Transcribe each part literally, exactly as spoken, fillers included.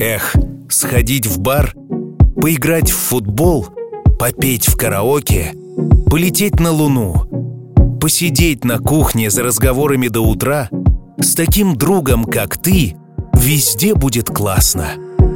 Эх, сходить в бар, поиграть в футбол, попеть в караоке, полететь на Луну, посидеть на кухне за разговорами до утра. С таким другом, как ты, везде будет классно.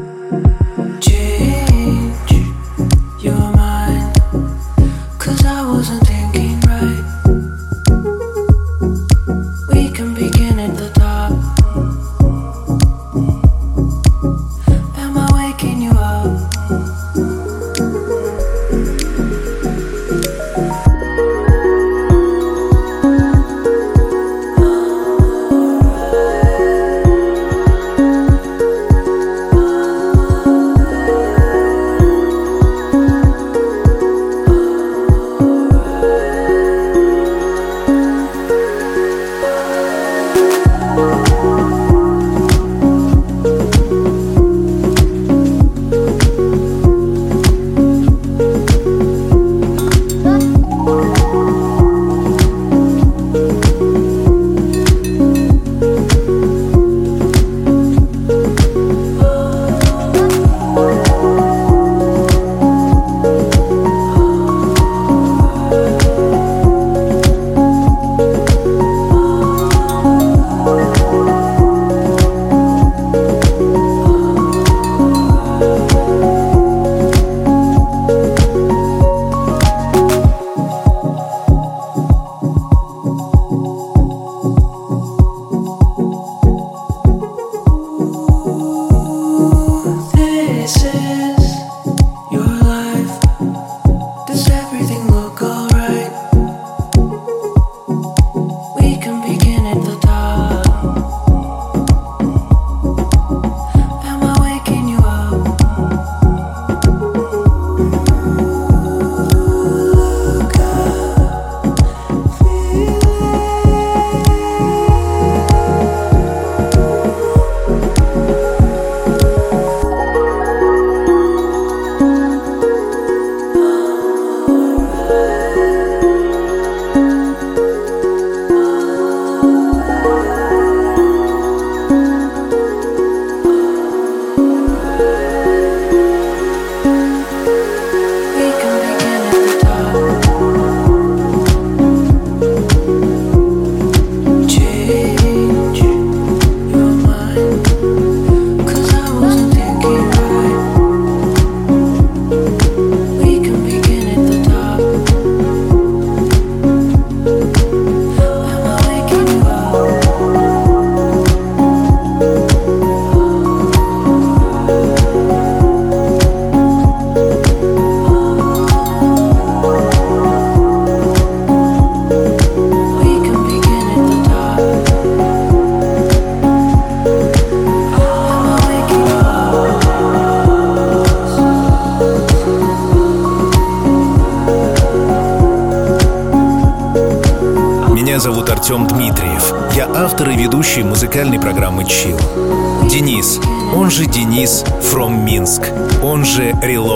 Артем Дмитриев. Я автор и ведущий музыкальной программы Chill. Денис, он же Денис from Минск, он же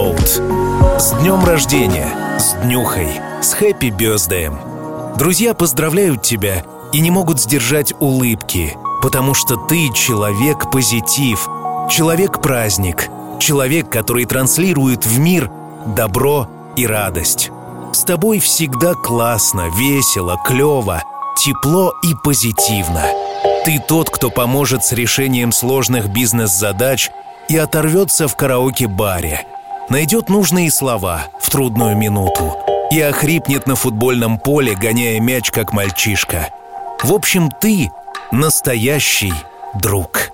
Reload. С днем рождения, с днюхой, с хэппи бёздеем. Друзья поздравляют тебя и не могут сдержать улыбки, потому что ты человек-позитив, человек-праздник, человек, который транслирует в мир добро и радость. С тобой всегда классно, весело, клёво, тепло и позитивно. Ты тот, кто поможет с решением сложных бизнес-задач и оторвется в караоке-баре, найдет нужные слова в трудную минуту и охрипнет на футбольном поле, гоняя мяч, как мальчишка. В общем, ты настоящий друг.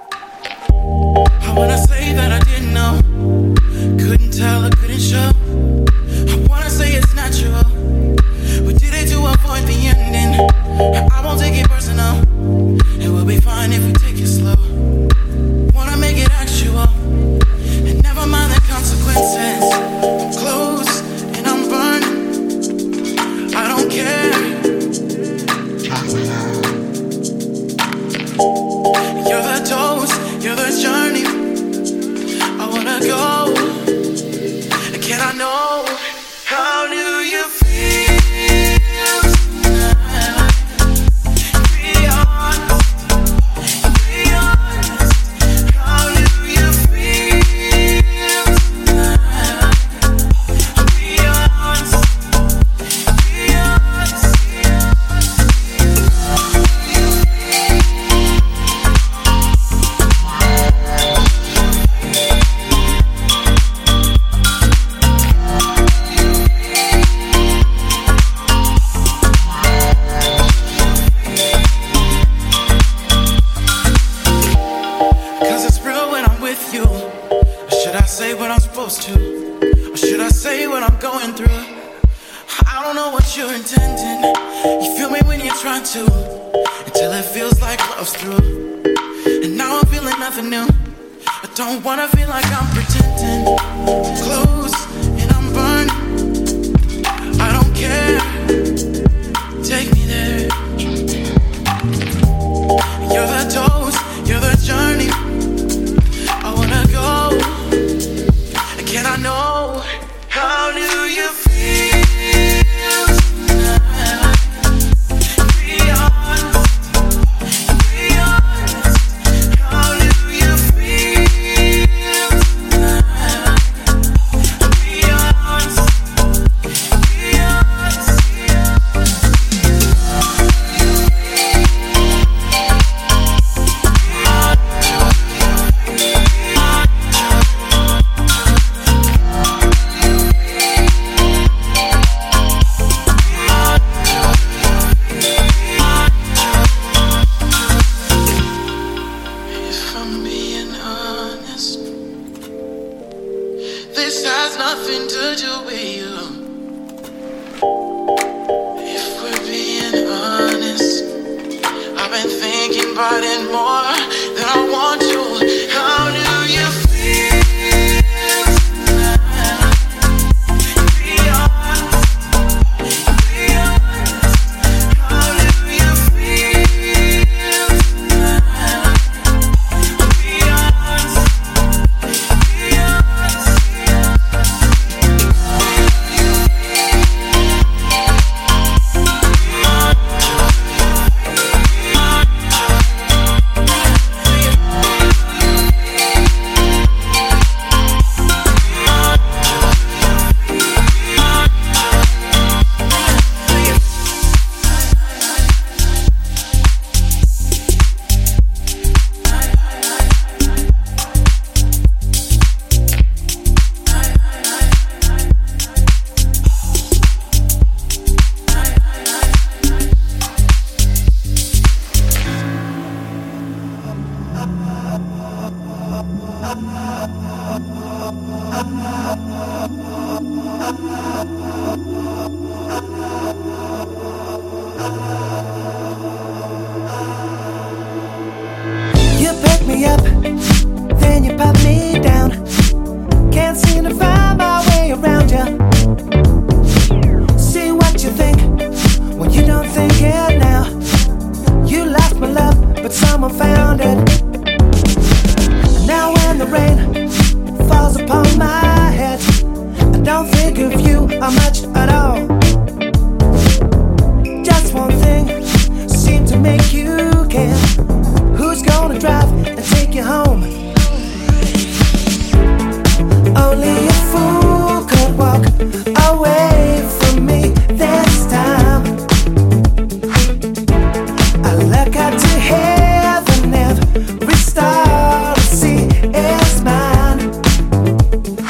I won't take it personal. It will be fine if we take it slow. Wanna make it actual, and never mind the consequences. I'm close and I'm burning. I don't care. You're the dose, you're the journey. I wanna supposed to? Or should I say what I'm going through? I don't know what you're intending. You feel me when you're trying to, until it feels like love's through. And now I'm feeling nothing new. I don't wanna feel like I'm pretending. Close and I'm burned. I don't care. Take me there. You're the dose, you're the journey. I wanna go. Can I know, how do you feel tonight? Be honest, be honest. How do you feel tonight? Be honest, be honest. This has nothing to do with you. If we're being honest, I've been thinking about it more than I want to. How do you feel tonight? Be honest, be honest. How do you feel tonight? Be honest, be honest. You pick me up, then you put me down. Can't seem to find my way around you. See what you think when you don't think it now. You lost my love, but someone found it. Now when the rain falls upon my head, I don't think of you or much at all. Just one thing seemed to make you care. Who's gonna drive and take you home? Only a fool could walk away from me this time. I look up to heaven, every star I see is mine.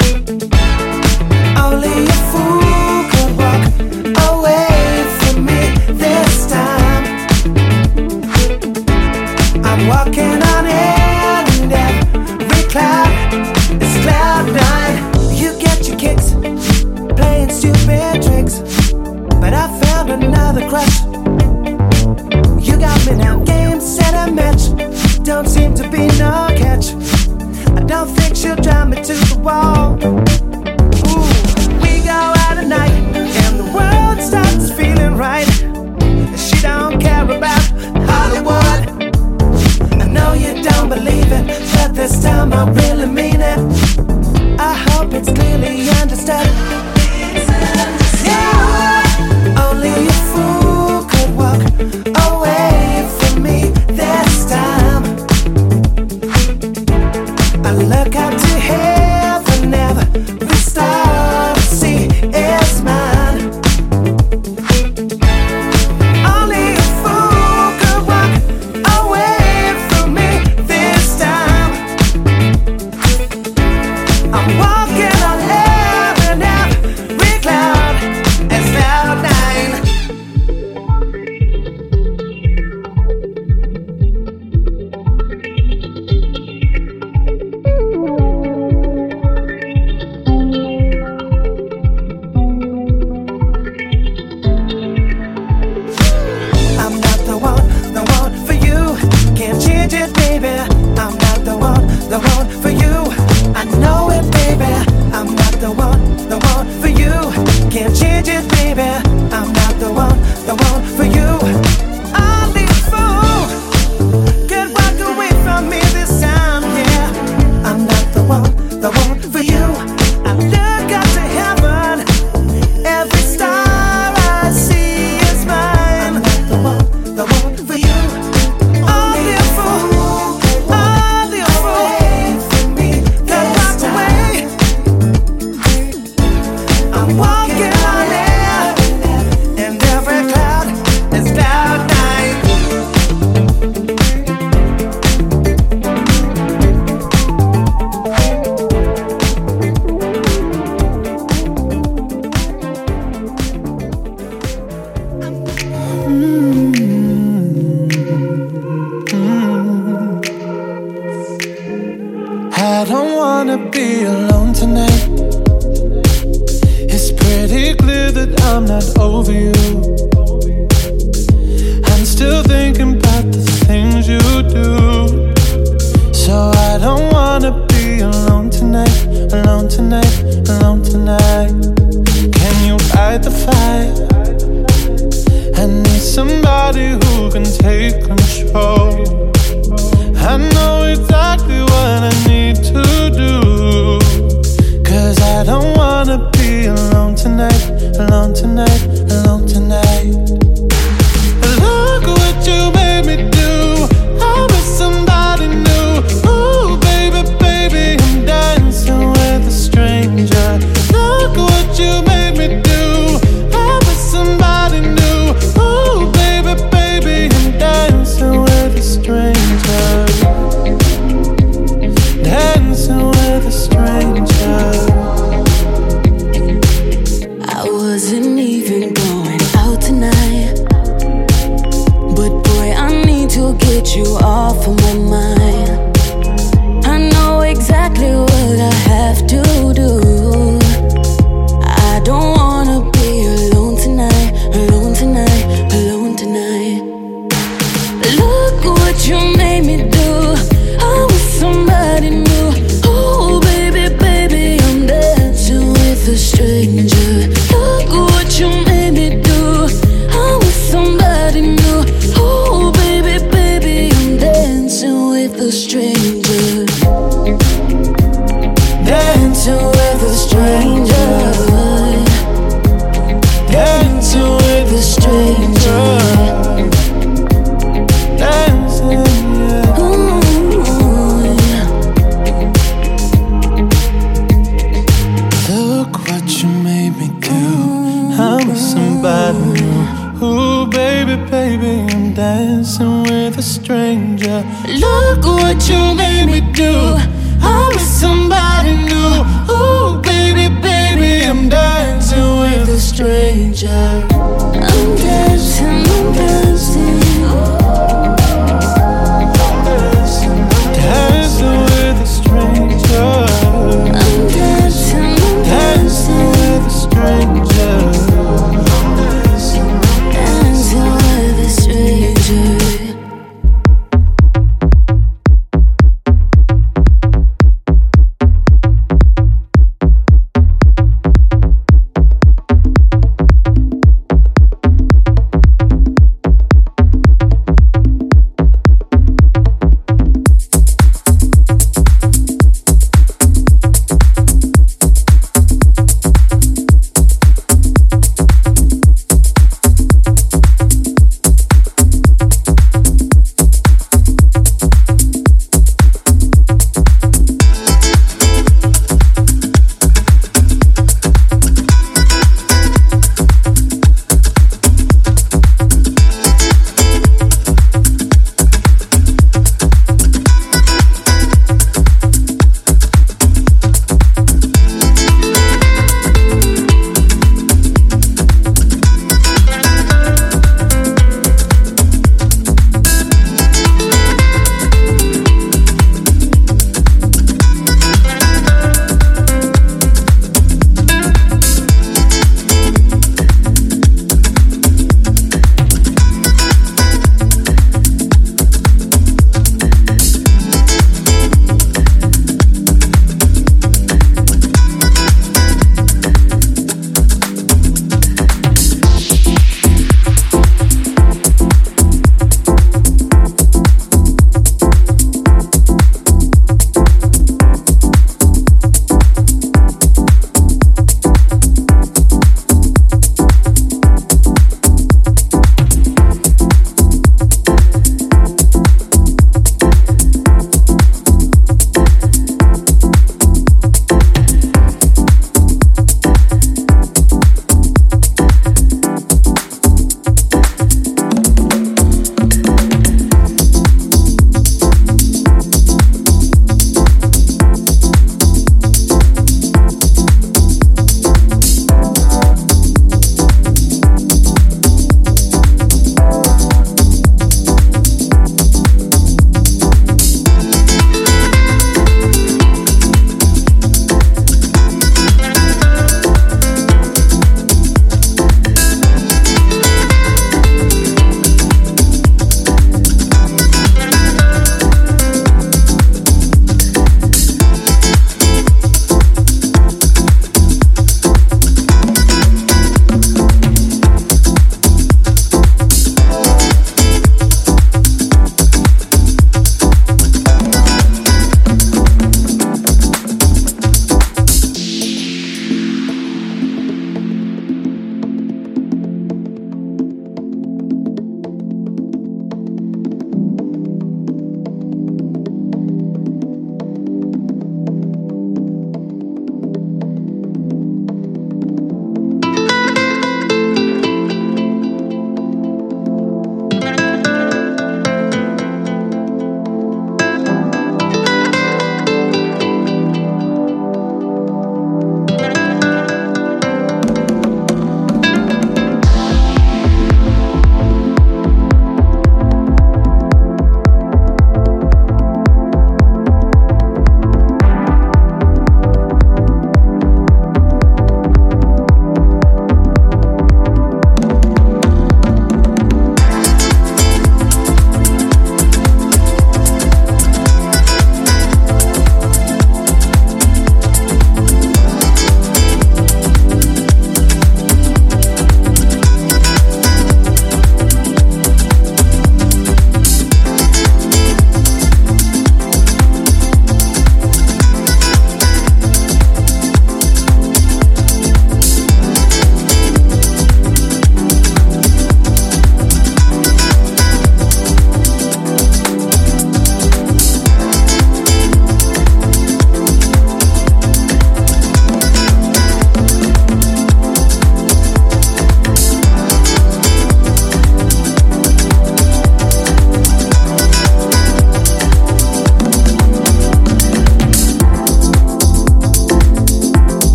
over you. I'm still thinking about the things you do. So I don't wanna be alone tonight, alone tonight, alone tonight. Can you fight the fire? I need somebody who can take control. I know exactly what I need to do. Cause I don't wanna be alone tonight, alone tonight, alone tonight. Look what you made me do. I'm with somebody new. Ooh, baby, baby, I'm dancing with a stranger. Look what you made me do. I'm with somebody new. Ooh, baby, baby, I'm dancing with a stranger. Dancing with a stranger. I wasn't even going out tonight, but boy, I need to get you off of my mind. I know exactly what I have to do. I don't wanna be alone tonight, alone tonight, alone tonight. Look what you made me do. I'm with somebody new. Oh baby, baby, I'm dancing with a stranger. Look what you made me do. I'm with somebody new. Oh baby, baby, I'm dancing with a stranger. Dancing with a stranger. Dancing with a stranger. Dancing, yeah. Ooh, yeah. Look what you made me do. I'm with somebody new. Ooh, baby, baby, I'm dancing with a stranger. Look what you made me do. I'm with somebody new. Ooh, baby, baby, I'm dancing with a stranger. I'm dancing, I'm dancing. Dancing with a stranger. I'm dancing, I'm Dancing with a stranger. dancing with a stranger.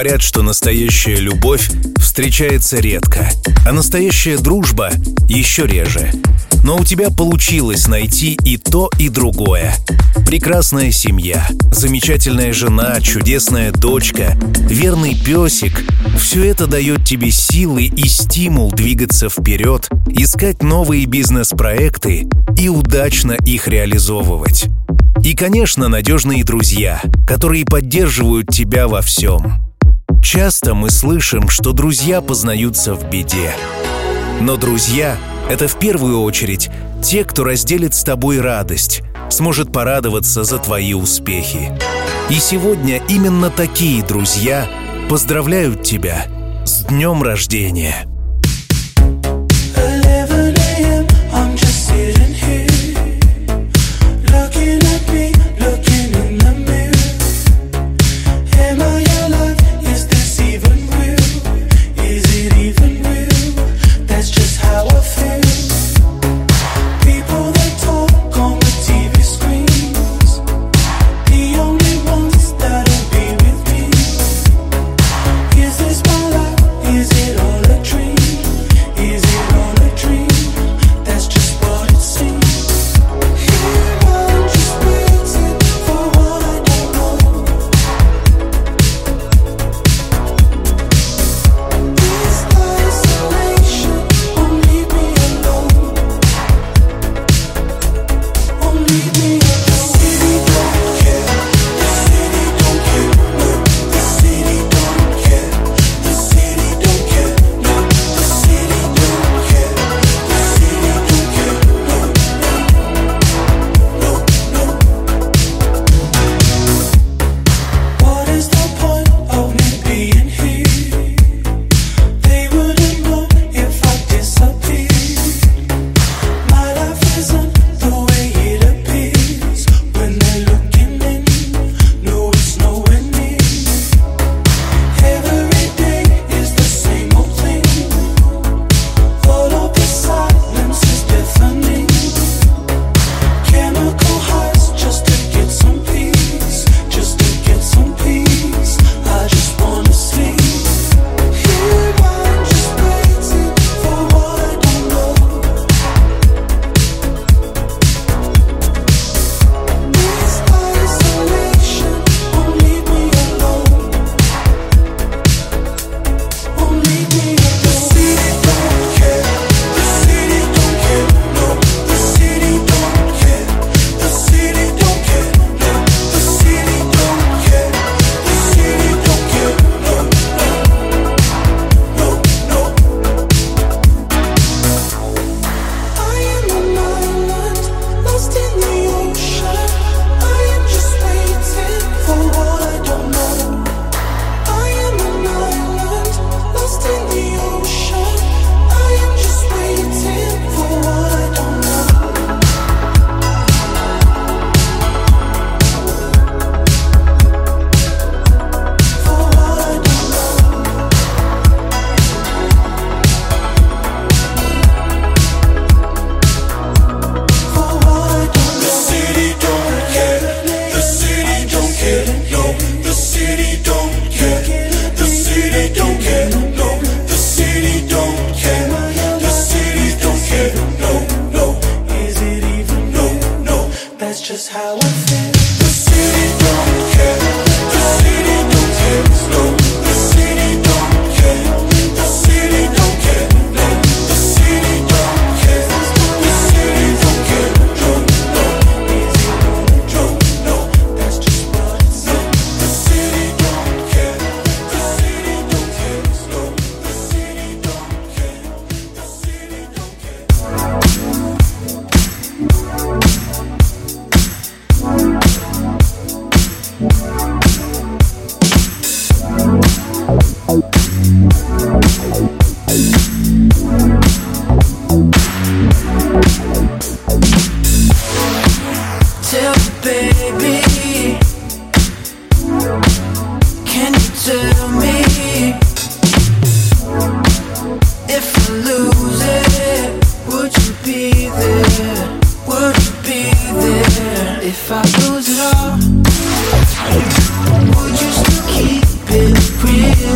Говорят, что настоящая любовь встречается редко, а настоящая дружба еще реже. Но у тебя получилось найти и то, и другое. Прекрасная семья, замечательная жена, чудесная дочка, верный песик — все это дает тебе силы и стимул двигаться вперед, искать новые бизнес-проекты и удачно их реализовывать. И, конечно, надежные друзья, которые поддерживают тебя во всем. Часто мы слышим, что друзья познаются в беде. Но друзья — это в первую очередь те, кто разделит с тобой радость, сможет порадоваться за твои успехи. И сегодня именно такие друзья поздравляют тебя с днем рождения. If I lose it all, would you still keep it real?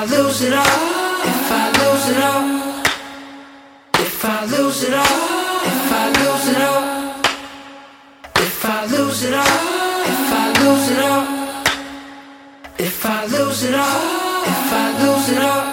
I lose it all, if I lose it all, if I lose it all, if I lose it all, if I lose it all, if I lose it all, if I lose it all, if I lose it all.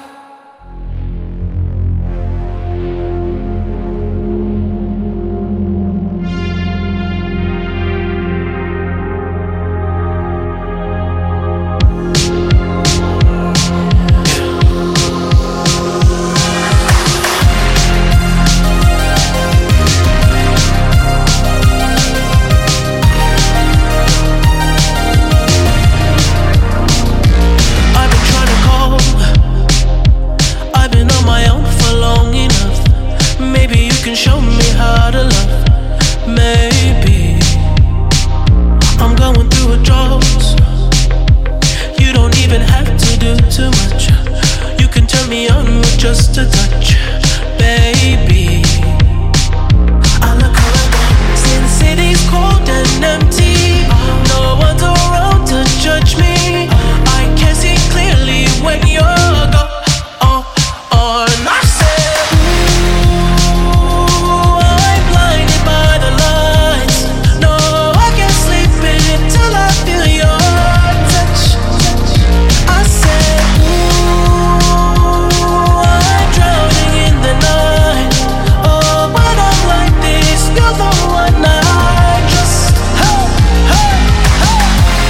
Just a touch, baby. I look around, since city's cold and empty, no one's around to judge me. I can see clearly when you're gone. Oh, oh, and I said, ooh, I'm blinded by the lights. No, I can't sleep until I feel your touch. I said, ooh, drowning in the night. Oh, when I'm like this, you're the one I just. Hey, hey, hey.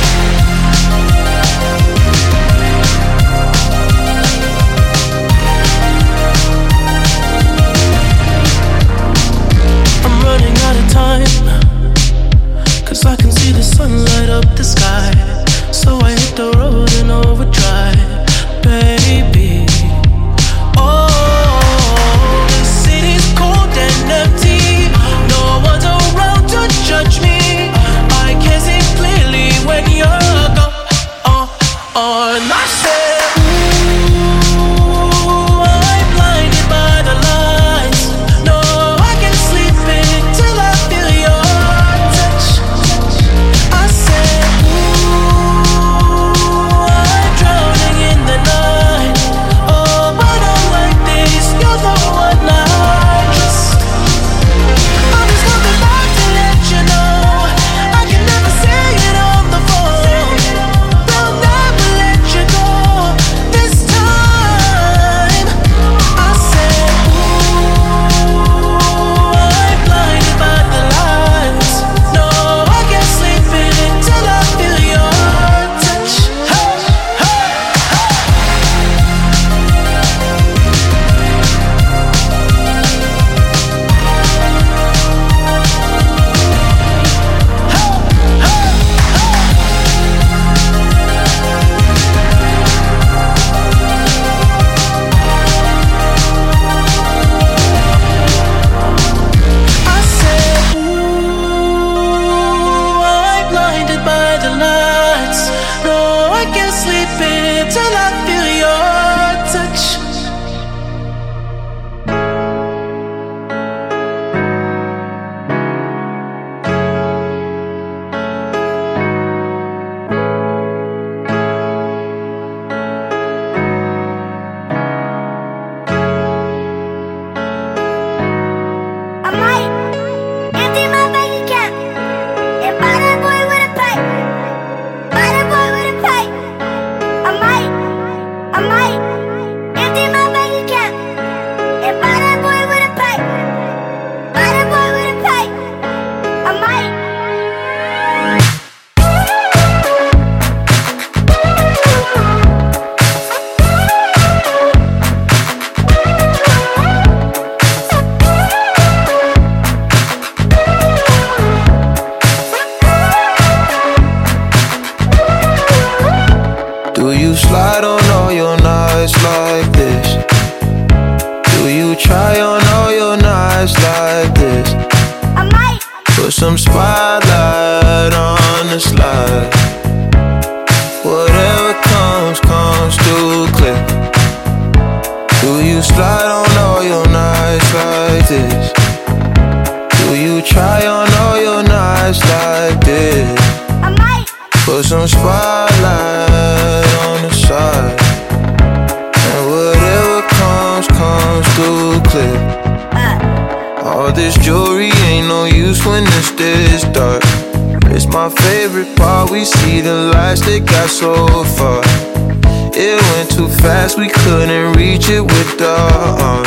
I'm running out of time, 'cause I can see the sun light up the sky. So I hit the road in overdrive, baby. Oh, the city's cold and empty. No one's around to judge me. I can see clearly when you're gone. Oh, oh, and I said, ooh, I'm blinded by the lights. No, I can't sleep until I feel your touch. I said, ooh, I'm drowning in the night. Oh, when I'm like this, you're the one I just. I'm just coming back to let you know I can never say it on the phone. They'll never let you go this time. I said, ooh, I'm blinded by the lights. No, I can't sleep until I feel your touch. Hey, hey, I said, ooh, I'm blinded by the lights. No, I can't sleep until I feel your touch. I might empty my bank account and buy that boy with a pipe. Buy that boy with a pipe. I might, I might empty my bank account and buy that boy with a pipe. Buy that boy with a pipe. I might. Do you slide on all your nights like this? Do you try on all your nights like this? I might. Put some spotlight on the slide. Whatever comes, comes too clear. Do you slide on all your nights like this? Do you try on all your nights like this? I might. Put some spotlight on the side. My favorite part, we see the lights that got so far. It went too fast, we couldn't reach it with the uh,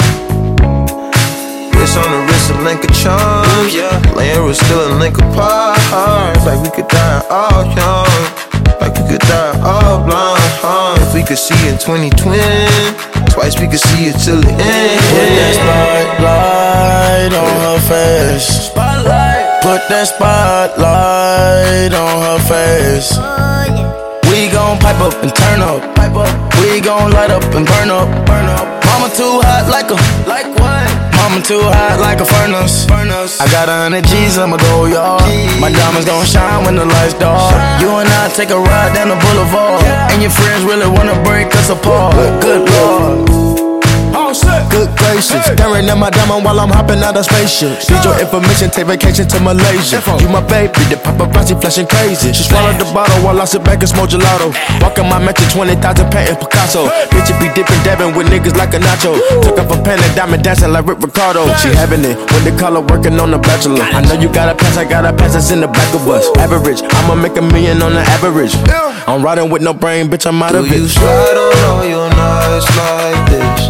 wrist on the wrist, a link of charms, yeah. Laying was still a link apart. Like we could die all young, like we could die all blind, huh? If we could see in twenty twenty, twice we could see it till the end. Put that spotlight on her face. Spotlight. Put that spotlight on her face. We gon' pipe up and turn up. Pipe up. We gon' light up and burn up. Burn up. Mama too hot like a. Like what? Mama too hot like a furnace. Furnace. I got a hundred G's, I'ma go yard. My diamonds gon' shine when the lights dark. You and I take a ride down the boulevard, yeah. And your friends really wanna break us apart. Good Lord. Good gracious, hey. Staring at my diamond while I'm hopping out of spaceship. Need your information, take vacation to Malaysia. You my baby, the paparazzi flashing crazy. She swallowed the bottle while I sit back and smoke gelato. Walking my mansion, twenty thousand painting Picasso. Bitch, you be dipping, dabbing with niggas like a nacho. Took off a pen and diamond dancing like Rick Ricardo. She having it when the color working on the bachelor. I know you got a pass, I got a pass that's in the back of us. Average, I'ma make a million on the average. I'm riding with no brain, bitch, I'm out of it. Do you slide on all your nights like this?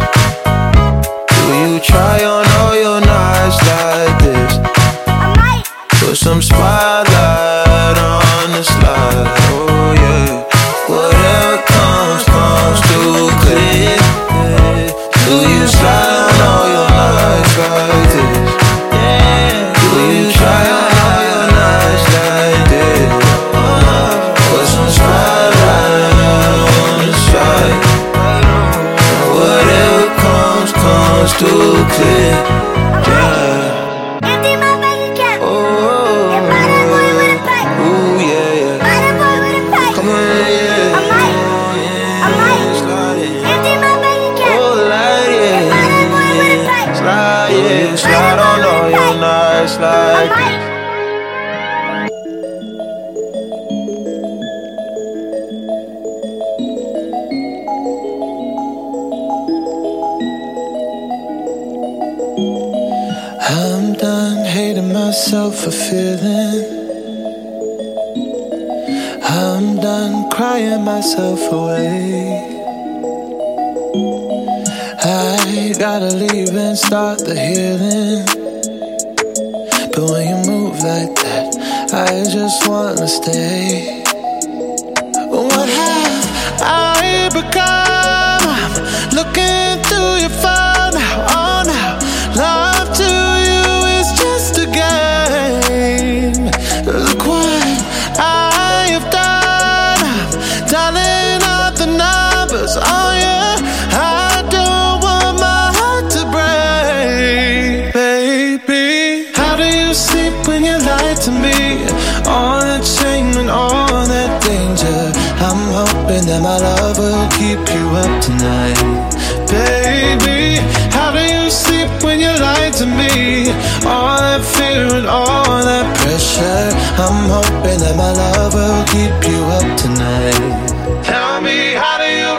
Do you try on all your nights like this? Put some spotlight on the slide, oh yeah. Whatever comes, comes too clear. Do you slide on all your nights like this? Do you try on all your nights like this? Put some spotlight on the slide. Whatever comes, comes too clear. Yeah. Empty my bank account. Oh, And buy that boy with a pipe. ooh, yeah, yeah. Buy that boy with a pipe. Come on, yeah. I might. I might. Slide it. Empty my bank account. Oh, light it. And buy that boy with a pipe. Slide, yeah. Slide on all your nights I like might. I'm done hating myself for feeling. I'm done crying myself away. I gotta leave and start the healing. But when you move like that, I just wanna stay. What have I become? I'm looking through your phone now, oh now. Love to you is just a game. Look what I have done. I'm dialing up the numbers, oh yeah. I don't want my heart to break, baby. How do you sleep when you lie to me? All that shame and all that danger. I'm hoping that my love will keep you up tonight, baby. How do you sleep when you lie to me? All that fear and all that pressure. I'm hoping that my love will keep you up tonight. Tell me, how do you?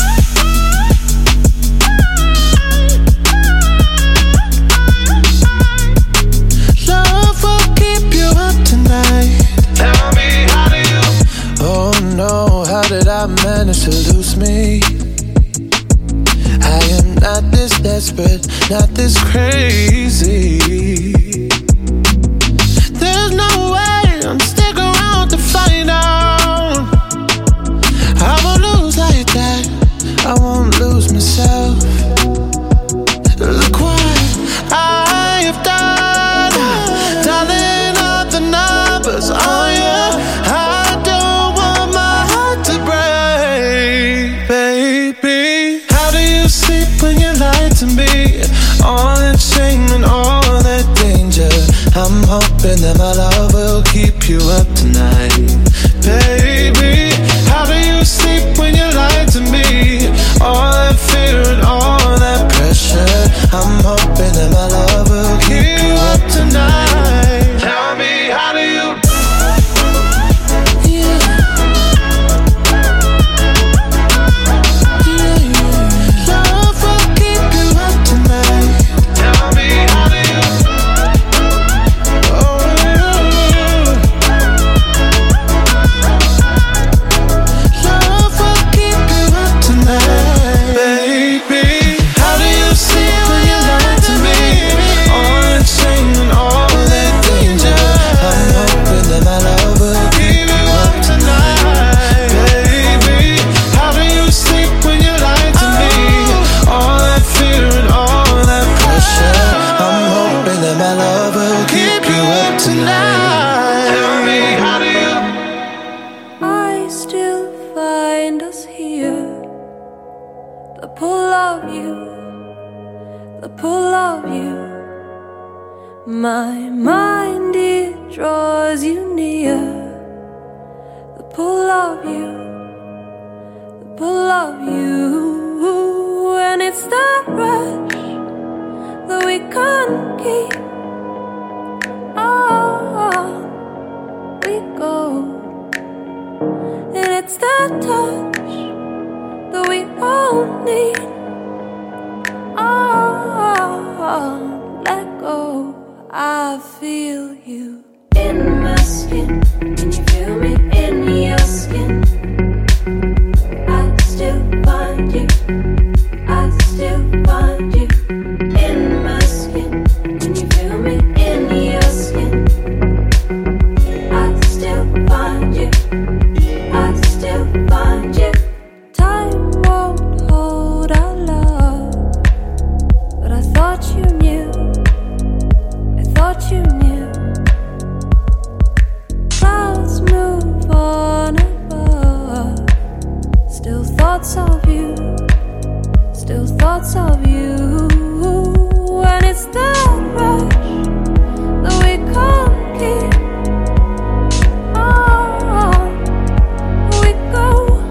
Love will keep you up tonight. Tell me, how do you? Oh no, how did I manage to lose me? I am not this desperate, not this crazy. There's no way I'm stick around to find out. I won't lose like that, I won't lose myself. Look what I have done, dialing up the numbers, oh yeah. I don't want my heart to break, baby. How do you sleep when you lie to me? All that shame and all that danger. I'm hoping that my love will keep you up tonight, baby. How do you sleep when you lie to me? All that fear and all that pressure. I'm hoping that my love will keep you up tonight. Tell me, how do you? Yeah. Yeah. Love will keep you up tonight. Tell me, how do you? Oh, yeah. the pull of you, the pull of you. My mind, it draws you near, the pull of you, the pull of you. And it's that rush that we can't keep. Oh, we go. And it's that touch that we all need. Oh, let go. I feel you in my skin. Can you feel me in your skin? I still find you. I still find you in my skin. Can you feel me in your skin? I still find you. I still find you. Time won't hold our love, but I thought you knew. I thought you knew. Clouds move on above. Still thoughts of you. Still thoughts of you. And it's that rush that we can't keep. Oh, we go.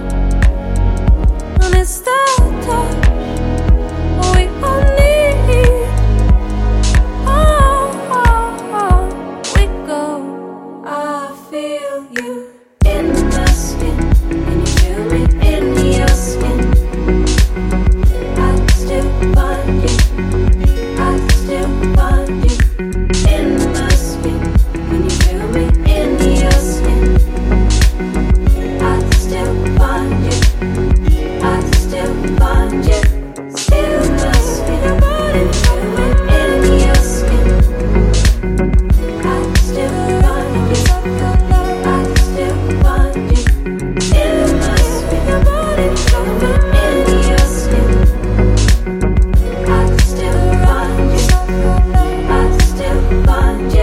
And it's that touch we all need. Oh, we go. I feel you in my skin. Can you feel me in your skin? I still find you. I still find you in my skin. Can you feel me in your skin? I still find you. I still find you. Still my skin. Can you feel me in your skin? I still find you. I still find you in my skin. Can you feel me in your skin? I still find you. I still find you.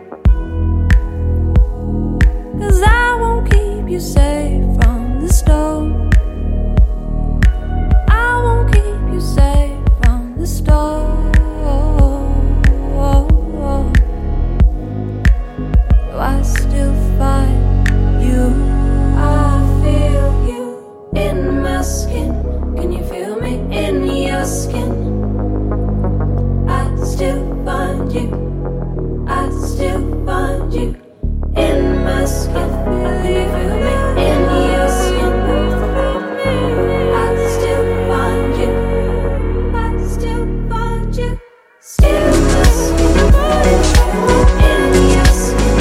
'Cause I won't keep you safe from the storm. I won't keep you safe from the storm. I still find you. I feel you in my skin. Can you feel me in your skin? I still find you. I still find you in my skin. Can you feel me in your skin? I still find you. I still find you. Still my skin. Can you feel me in your skin?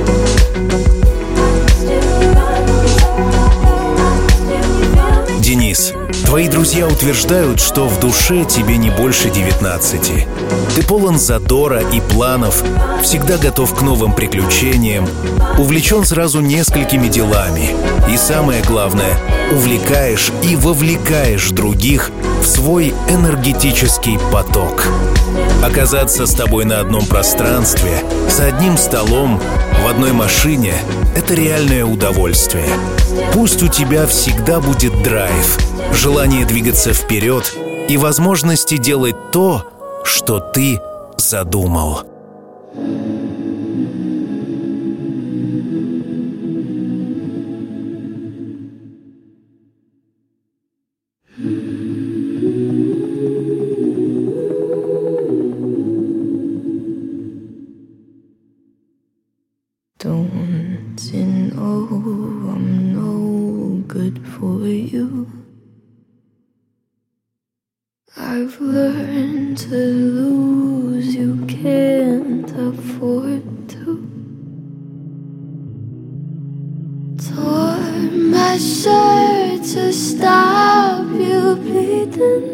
I still find you. I still find you. Денис, твои друзья утверждают, что в душе тебе не больше девятнадцати. Ты полон задора и планов, всегда готов к новым приключениям, увлечен сразу несколькими делами и, самое главное, увлекаешь и вовлекаешь других в свой энергетический поток. Оказаться с тобой на одном пространстве, за одним столом, в одной машине — это реальное удовольствие. Пусть у тебя всегда будет драйв, желание двигаться вперед и возможности делать то, что ты задумал. Don't you know I'm no good for you? I've learned to lose, you can't afford to. Tore my shirt to stop you bleeding,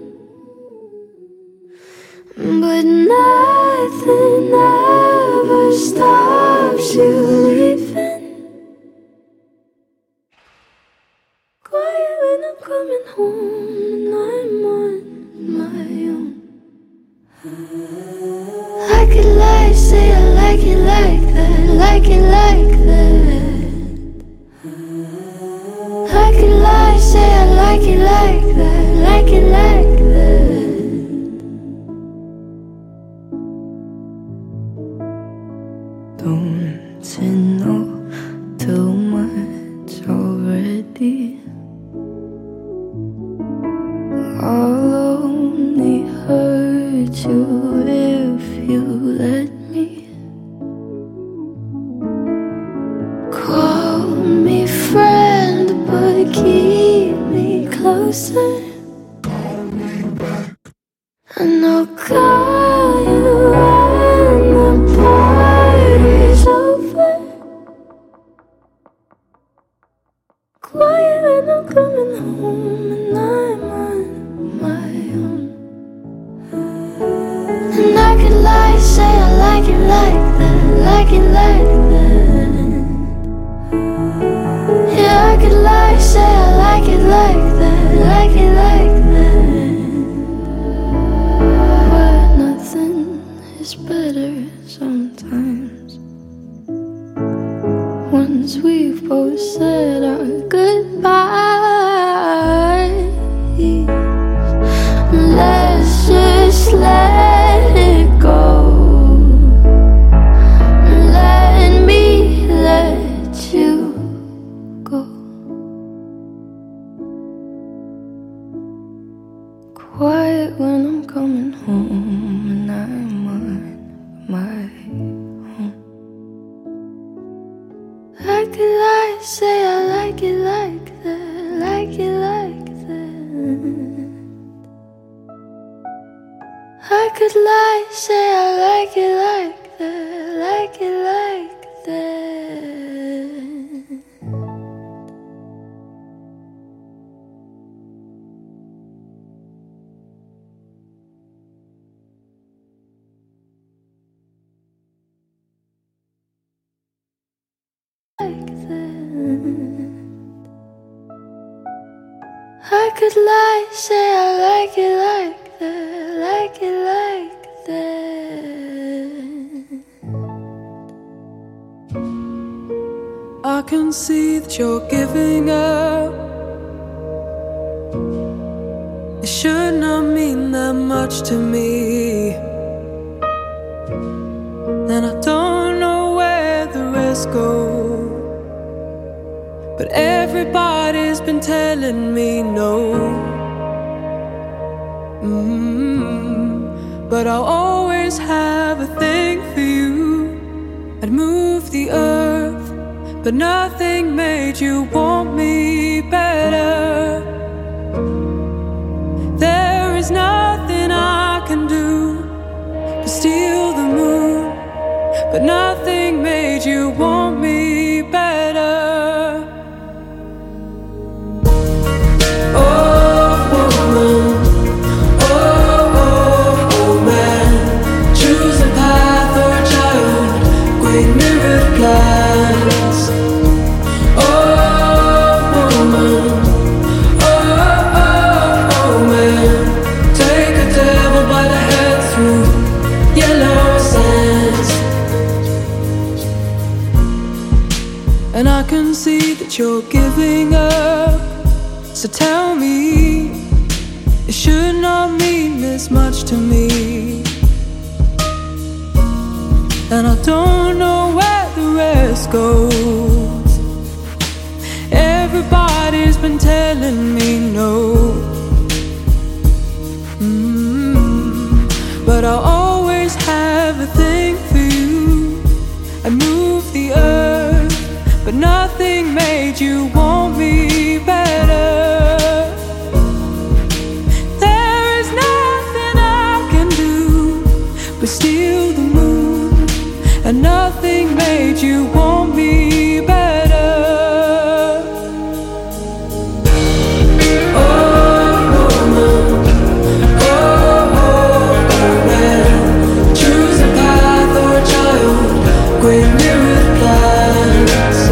but nothing ever stops you leaving. Quiet when I'm coming home and I'm on my own. I could lie, say I like it like that, like it like that. I could lie, say I like it like that, like it hold you if you let me. Call me friend, but keep me closer. And I'll call you when the party's over. Quiet when I'm coming home and I'm on my own. And I could lie, say I like it like that, like it like that. Yeah, I could lie, say I like it like that, like it like that. But nothing is better sometimes. Once we've both said our goodbyes, let's just let it go. Let me let you go. Quiet when I'm coming home and I'm on my own. I could lie, say I like it like that, like it like that. I could lie, say I like it like that, like it like that. Like that. I could lie, say I like it like that, like it like that. I can see that you're giving up. It should not mean that much to me. And I don't know where the rest go. But everybody's been telling me no. Mm-hmm. But I'll always have a thing for you. I'd move the earth, but nothing made you want me better. There is nothing I can do to steal the moon, but nothing made you want me better. And I can see that you're giving up. So tell me, it should not mean this much to me. And I don't know where the rest goes. Everybody's been telling me no. Mm-hmm. But I'll always have a thing for you. I move the earth, but nothing made you want me better. There is nothing I can do but steal the moon, and nothing made you want me better. Oh, woman, oh, oh, oh, man, choose a path or a child, great mirrored plans.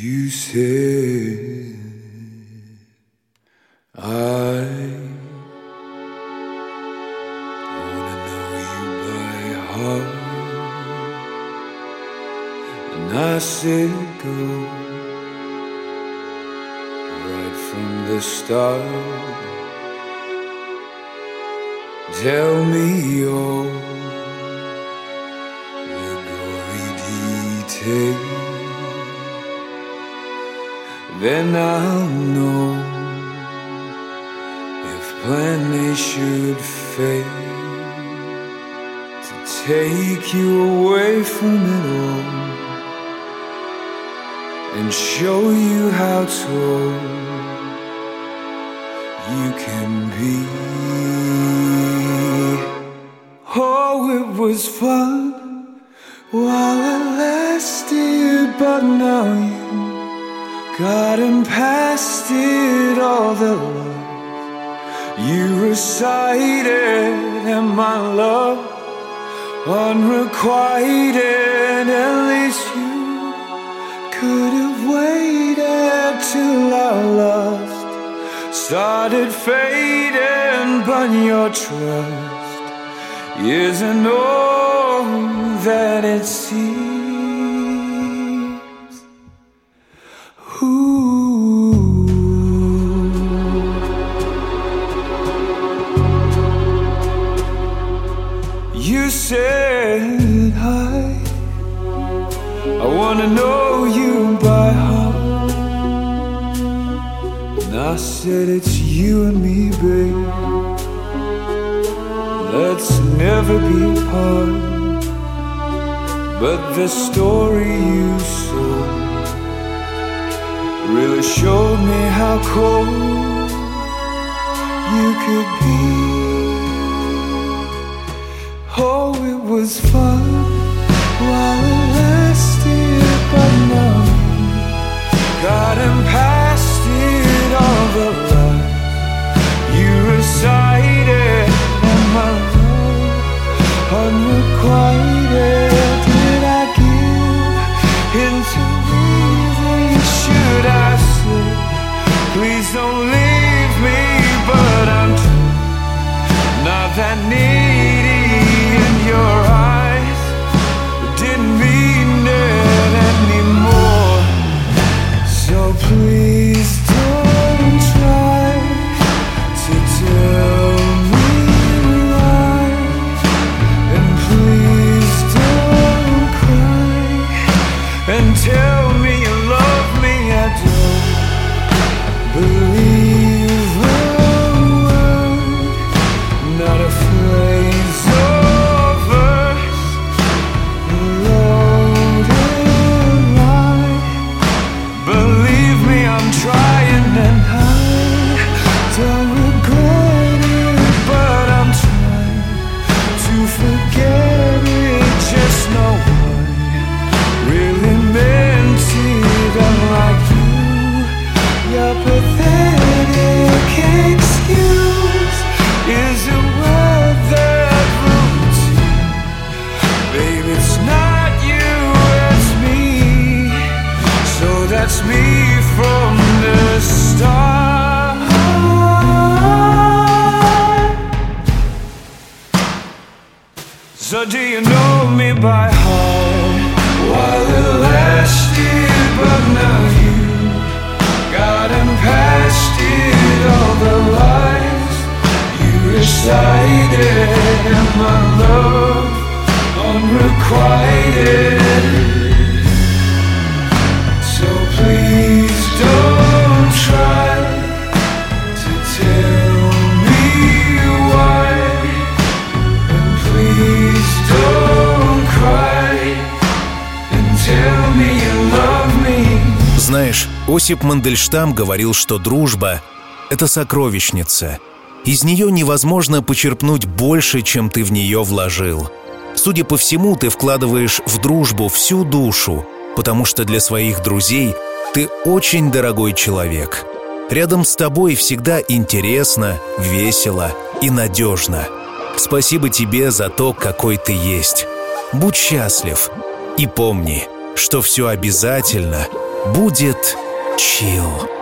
You said I wanna know you by heart, and I said go right from the start. Tell me all the gory details, then I'll know if plan A should fail to take you away from it all and show you how tall you can be. Oh, it was fun while it lasted, but now you gotten past it. All the love you recited and my love unrequited. At least you could have waited till our lust started fading, but your trust isn't all that it seems. Ooh. You said hi, I wanna know you by heart, and I said it's you and me, babe. Let's never be apart. But the story you sold really showed me how cold you could be. Oh, it was fun while it lasted, but now gotten past it. All the lies you recited and my love unrequited. Did I give into leaving? Should I say, please don't leave me? But I'm not that needy in your eyes. Didn't mean it anymore. So please don't try to tell me why, and please don't cry and tell me you love me. I don't believe a word, not a phrase or verse, a loaded lie. Believe me, I'm trying and I don't regret it, but I'm trying to forget it. Just know I really meant it. Unlike you, your pathetic excuse is a word that routine. Babe, it's not you, it's me. So that's me from the start. So do you know me by heart? While it lasted, but now you gotten past it. All the lies you recited and my love unrequited. So please don't try to tell me why, and please don't cry and tell me you love me. Знаешь, Осип Мандельштам говорил, что дружба — это сокровищница. Из нее невозможно почерпнуть больше, чем ты в нее вложил. Судя по всему, ты вкладываешь в дружбу всю душу, потому что для своих друзей ты очень дорогой человек. Рядом с тобой всегда интересно, весело и надежно. Спасибо тебе за то, какой ты есть. Будь счастлив и помни, что все обязательно будет чил.